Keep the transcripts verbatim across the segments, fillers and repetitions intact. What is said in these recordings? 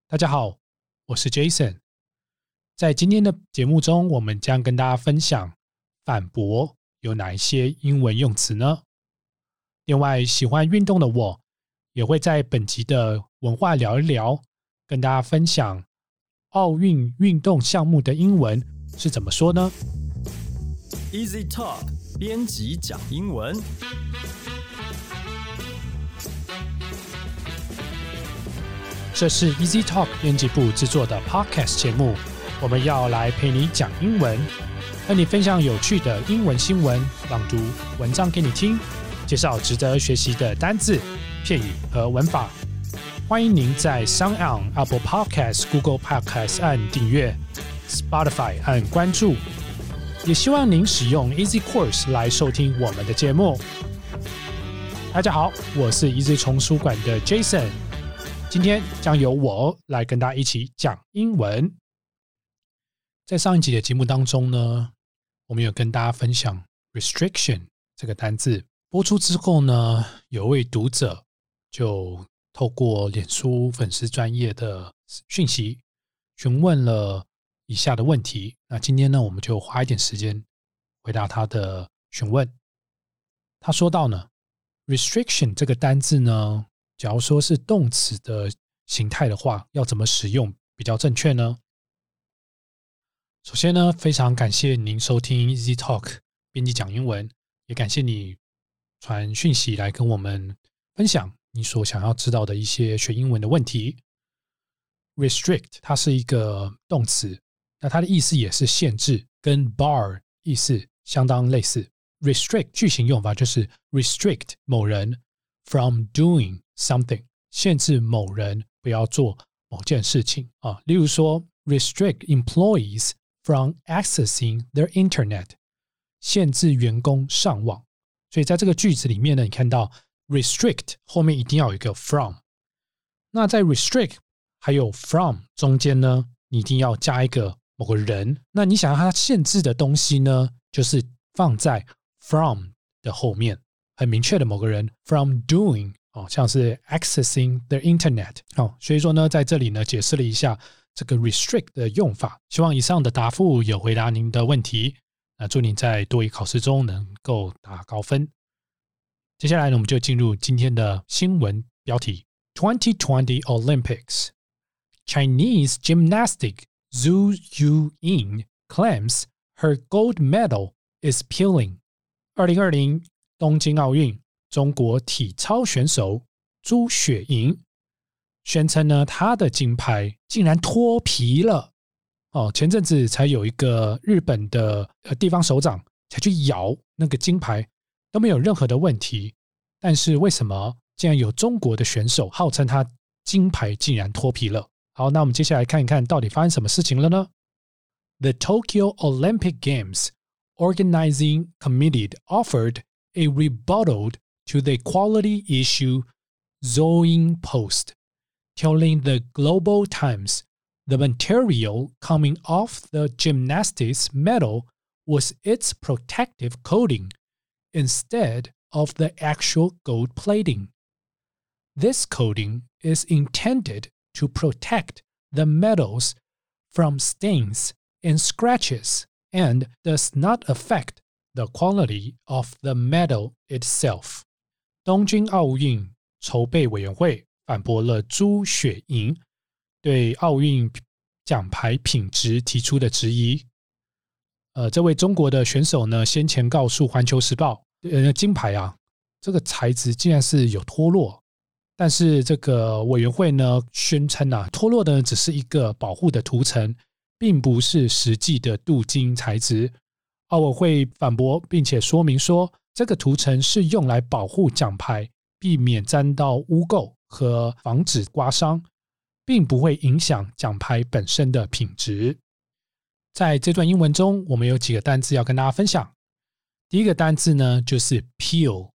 大家好，我是 Jason。 在今天的节目中，我们将跟大家分享反驳有哪一些英文用词呢？另外，喜欢运动的我也会在本集的文化聊一聊，跟大家分享奥运运动项目的英文是怎么说呢？ Easy Talk 编辑讲英文。 这是 Easy Talk 编辑部制作的 Podcast 节目，我们要来陪你讲英文，和你分享有趣的英文新闻，朗读文章给你听，介绍值得学习的单字、片语和文法。欢迎您在 SoundOn、Apple Podcasts、Google Podcasts 按订阅， Spotify 按关注，也希望您使用 Easy Course 来收听我们的节目。大家好，我是 Easy 丛书馆的 Jason，今天将由我来跟大家一起讲英文。在上一集的节目当中呢，我们有跟大家分享 restriction 这个单字。播出之后呢，有位读者就透过脸书粉丝专页的讯息询问了以下的问题。那今天呢，我们就花一点时间回答他的询问。他说到呢 restriction 这个单字呢，假如说是动词的形态的话，要怎么使用比较正确呢？首先呢，非常感谢您收听 Easy Talk 编辑讲英文，也感谢你传讯息来跟我们分享你所想要知道的一些学英文的问题。 Restrict 它是一个动词，那它的意思也是限制，跟 bar 意思相当类似。 Restrict 句型用法就是 restrict 某人 from doing something， 限制某人不要做某件事情啊。例如说 restrict employees from accessing their internet， 限制员工上网。所以在这个句子里面呢，你看到 restrict 后面一定要有一个 from， 那在 restrict 还有 from 中间呢，你一定要加一个某个人，那你想要它限制的东西呢，就是放在 from 的后面，很明确的某个人 from doing，哦，像是 accessing the internet，哦，所以说呢，在这里呢解释了一下这个 restrict 的用法。希望以上的答复有回答您的问题，那祝您在多益考试中能够打高分。接下来呢，我们就进入今天的新闻标题。 twenty twenty Olympics Chinese gymnastic Zhu Yuyin claims her gold medal is peeling。 二零二零东京奥运，中国体操选手朱雪莹宣称呢，她的金牌竟然脱皮了。哦，前阵子才有一个日本的地方首长才去摇那个金牌，都没有任何的问题。但是为什么竟然有中国的选手号称他金牌竟然脱皮了？好，那我们接下来看一看到底发生什么事情了呢？ The Tokyo Olympic Games Organizing Committee offered a rebuttal to the equality issue Zoeing Post, telling the Global Times the material coming off the gymnastics medal was its protective coating instead of the actual gold plating. This coating is intended to protect the medals from stains and scratches and does not affect the quality of the medal itself. 东京奥运筹备委员会反驳了朱雪莹对奥运奖牌品质提出的质疑。呃，这位中国的选手呢，先前告诉环球时报，呃，金牌啊，这个材质竟然是有脱落，但是这个委员会呢宣称啊，脱落的只是一个保护的涂层，并不是实际的镀金材质。奥委会反驳并且说明说，这个涂层是用来保护奖牌，避免沾到污垢和防止刮伤，并不会影响奖牌本身的品质。在这段英文中，我们有几个单字要跟大家分享。第一个单字呢，就是 peel。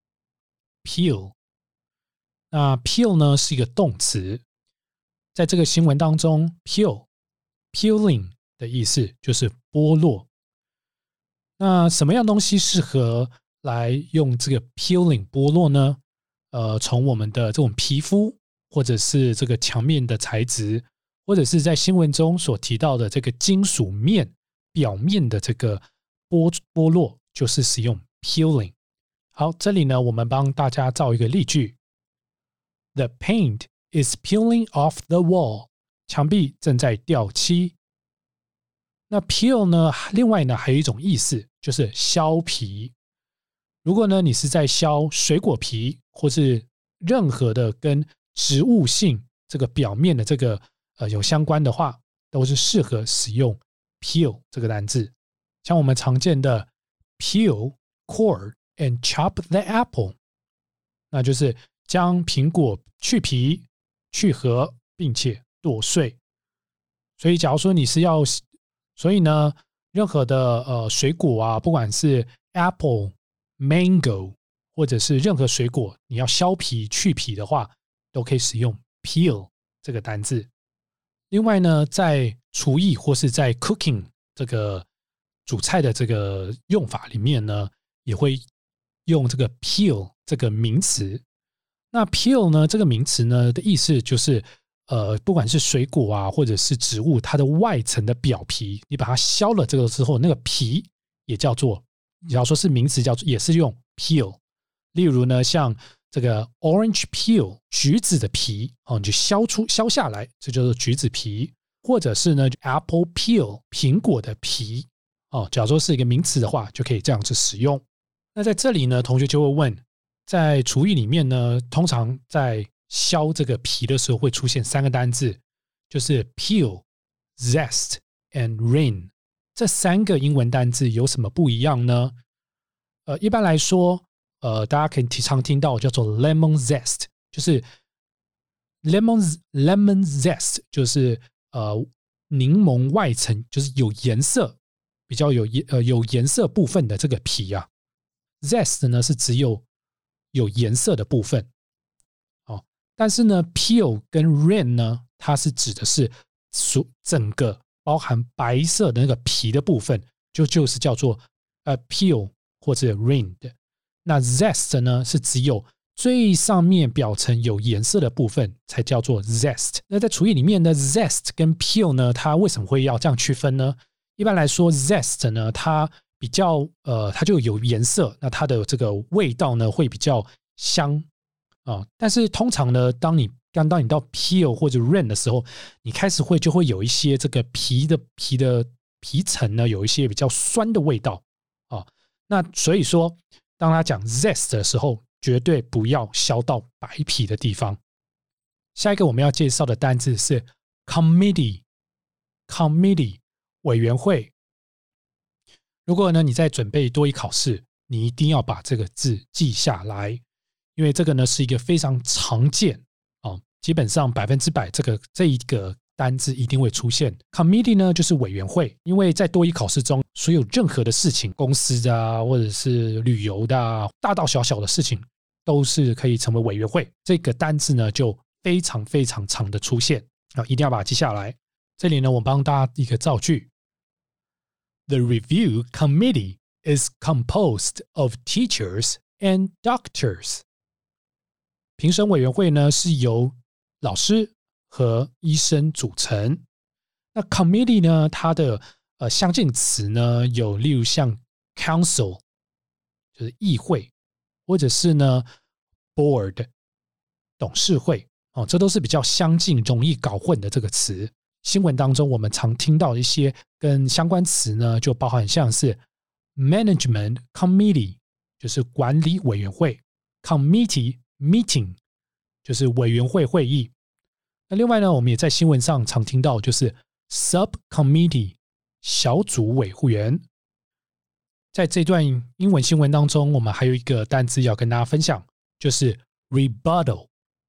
peel， 那 peel 呢是一个动词，在这个新闻当中 peel peeling 的意思就是剥落。那什么样东西适合来用这个 peeling 剥落呢？呃，从我们的这种皮肤或者是这个墙面的材质，或者是在新闻中所提到的这个金属面表面的这个剥剥落，就是使用 peeling。 好，这里呢我们帮大家造一个例句。 The paint is peeling off the wall， 墙壁正在掉漆。那 peel 呢，另外呢还有一种意思，就是削皮。如果呢你是在削水果皮，或是任何的跟植物性这个表面的这个呃有相关的话，都是适合使用 peel 这个单字。像我们常见的 peel, core and chop the apple， 那就是将苹果去皮、去核，并且剁碎。所以假如说你是要，所以呢任何的呃水果啊，不管是 apple、mango 或者是任何水果，你要削皮去皮的话，都可以使用 peel 这个单字。另外呢，在厨艺或是在 cooking 这个煮菜的这个用法里面呢，也会用这个 peel 这个名词。那 peel 呢这个名词呢的意思就是呃，不管是水果啊或者是植物，它的外层的表皮，你把它削了这个之后，那个皮也叫做，假如说是名词叫做，也是用 peel。 例如呢像这个 orange peel 橘子的皮、哦、你就削出削下来，这就是橘子皮。或者是呢 apple peel 苹果的皮、哦、假如说是一个名词的话，就可以这样子使用。那在这里呢同学就会问，在厨艺里面呢，通常在削这个皮的时候会出现三个单字，就是 peel, zest and rin。 这三个英文单字有什么不一样呢？呃，一般来说呃，大家可以常听到叫做 lemon zest， 就是 lemon, lemon zest 就是呃柠檬外层，就是有颜色比较有呃有颜色部分的这个皮啊。 zest 呢是只有有颜色的部分、哦、但是呢 peel 跟 rin 呢，它是指的是整个包含白色的那个皮的部分，就就是叫做呃 peel 或者 rin 的。那 zest 呢是只有最上面表层有颜色的部分才叫做 zest。 那在厨艺里面呢 zest 跟 peel 呢，它为什么会要这样区分呢？一般来说 zest 呢它比较呃，它就有颜色，那它的这个味道呢会比较香啊、哦。但是通常呢，当你刚当你到 peel 或者 rin 的时候，你开始会就会有一些这个皮的皮的皮层呢，有一些比较酸的味道啊、哦。那所以说，当他讲 zest 的时候，绝对不要削到白皮的地方。下一个我们要介绍的单字是 committee， committee 委员会。如果呢你在准备多益考试，你一定要把这个字记下来，因为这个呢是一个非常常见、哦、基本上百分之百这个这一个单字一定会出现。 committee 呢就是委员会，因为在多益考试中，所有任何的事情，公司啊或者是旅游的、啊、大大小小的事情都是可以成为委员会。这个单字呢就非常非常常的出现、哦、一定要把它记下来。这里呢我帮大家一个造句， The review committee is composed of teachers and doctors。 评审委员会呢是由老师和医生组成。那 committee 呢，它的呃相近词呢有例如像 council 就是议会，或者是呢 board 董事会、哦、这都是比较相近容易搞混的这个词。新闻当中我们常听到一些跟相关词呢，就包含像是 management committee 就是管理委员会， committee meeting 就是委员会会议。那另外呢，我们也在新闻上常听到就是 subcommittee 小组委员。在这段英文新闻当中，我们还有一个单字要跟大家分享，就是 rebuttal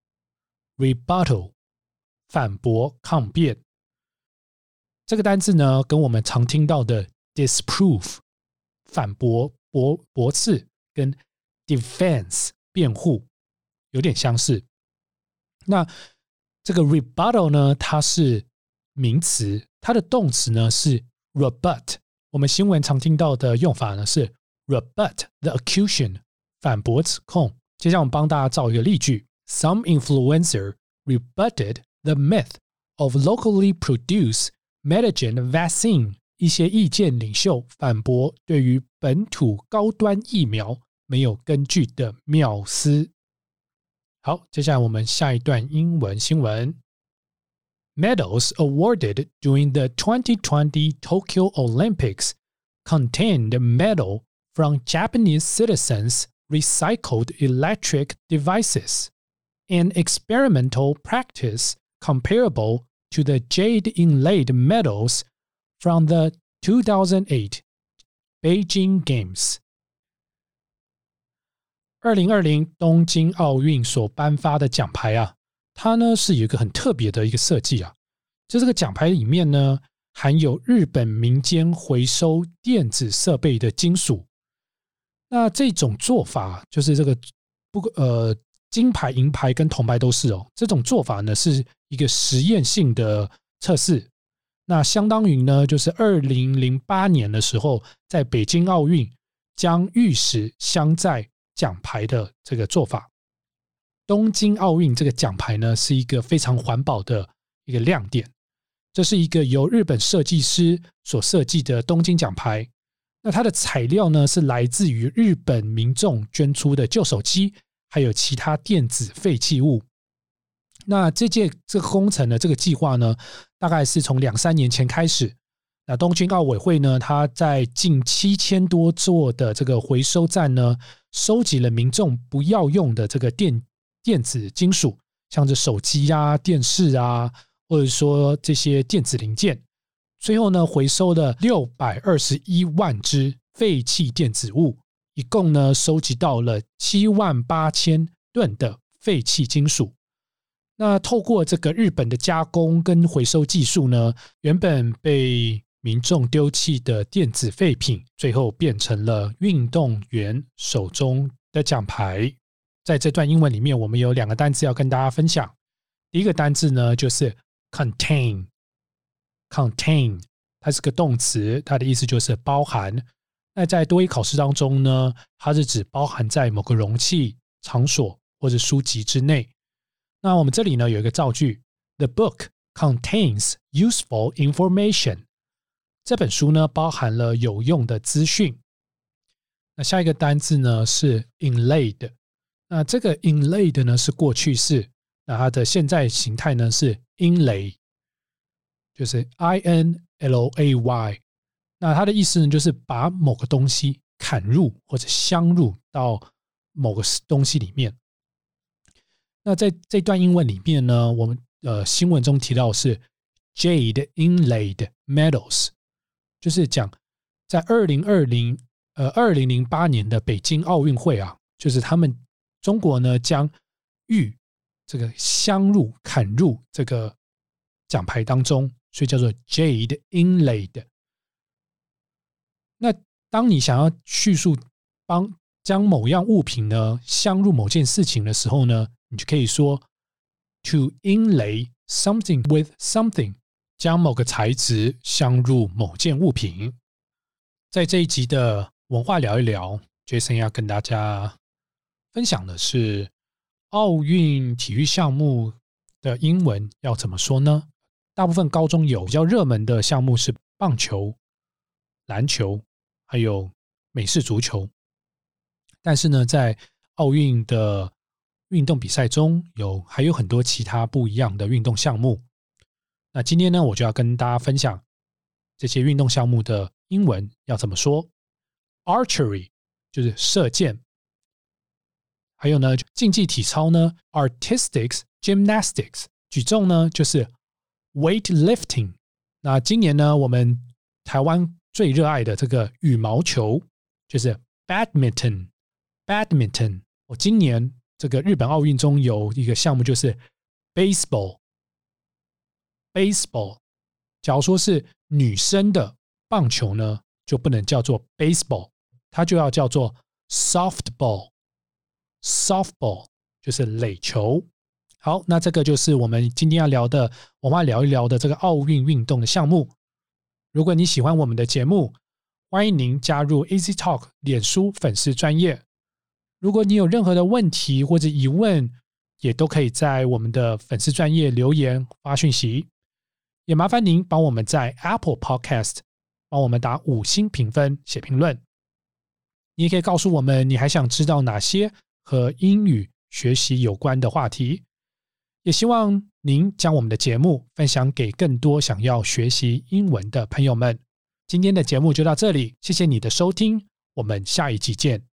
rebuttal 反驳抗辩。这个单字呢跟我们常听到的 disprove 反驳驳驳斥跟 defense 辩护有点相似。那这个 rebuttal 呢，它是名词，它的动词呢是 rebut。 我们新闻常听到的用法呢是 rebut the accusation 反驳指控。接下来我们帮大家造一个例句， Some influencer rebutted the myth of locally produced metagen vaccine。一些意见领袖反驳对于本土高端疫苗没有根据的谬思。好，接下来我们下一段英文新闻。Medals awarded during the twenty twenty Tokyo Olympics contained metal from Japanese citizens' recycled electric devices, an experimental practice comparable to the jade-inlaid medals from the two thousand eight Beijing Games。 二零二零东京奥运所颁发的奖牌啊，它呢是有一个很特别的一个设计啊，就这个奖牌里面呢含有日本民间回收电子设备的金属。那这种做法就是这个不呃金牌、银牌跟铜牌都是哦。这种做法呢是一个实验性的测试。那相当于呢就是二零零八年的时候，在北京奥运将玉石镶在奖牌的这个做法。东京奥运这个奖牌呢是一个非常环保的一个亮点。这是一个由日本设计师所设计的东京奖牌。那它的材料呢是来自于日本民众捐出的旧手机，还有其他电子废弃物。那这届这个工程的这个计划呢，大概是从两三年前开始。那东京奥委会呢，它在近七千多座的这个回收站呢，收集了民众不要用的这个电电子金属，像是手机啊、电视啊，或者说这些电子零件。最后呢，回收了六百二十一万只废弃电子物，一共呢收集到了七万八千吨的废弃金属。那透过这个日本的加工跟回收技术呢，原本被民众丢弃的电子废品，最后变成了运动员手中的奖牌。在这段英文里面，我们有两个单字要跟大家分享。第一个单字呢就是 contain， contain 它是个动词，它的意思就是包含。那在多益考试当中呢，它是指包含在某个容器、场所或者书籍之内。那我们这里呢有一个造句 The book contains useful information。 这本书呢包含了有用的资讯。那下一个单字呢是 inlaid。 那这个 inlaid 呢是过去式，那它的现在形态呢是 inlay， 就是 I N L A Y。 那它的意思呢就是把某个东西砍入或者镶入到某个东西里面。那在这段英文里面呢，我们呃新闻中提到的是 jade inlaid medals， 就是讲在二零二零呃二零零八年的北京奥运会啊，就是他们中国呢将玉这个镶入砍入这个奖牌当中，所以叫做 jade inlaid。 那当你想要叙述帮将某样物品呢镶入某件事情的时候呢，你就可以说 to inlay something with something， 将某个材质镶入某件物品。在这一集的文化聊一聊， Jason 要跟大家分享的是奥运体育项目的英文要怎么说呢？大部分高中有比较热门的项目是棒球、篮球还有美式足球。但是呢，在奥运的运动比赛中有还有很多其他不一样的运动项目。那今天呢，我就要跟大家分享这些运动项目的英文要怎么说。 Archery 就是射箭，还有呢竞技体操呢 Artistic Gymnastics， 举重呢就是 Weightlifting。 那今年呢我们台湾最热爱的这个羽毛球就是 Badminton Badminton。 我今年这个日本奥运中有一个项目就是 Baseball Baseball。 假如说是女生的棒球呢，就不能叫做 Baseball， 它就要叫做 Softball Softball 就是垒球。好，那这个就是我们今天要聊的，我们要聊一聊的这个奥运运动的项目。如果你喜欢我们的节目，欢迎您加入 Easy Talk 脸书粉丝专页。如果你有任何的问题或者疑问， 也都可以在我们的粉丝专页留言发讯息，也麻烦您帮我们在 Apple Podcast 帮我们打五星评分写评论。你也可以告诉我们你还想知道哪些和英语学习有关的话题，也希望您将我们的节目分享给更多想要学习英文的朋友们。今天的节目就到这里，谢谢你的收听，我们下一集见。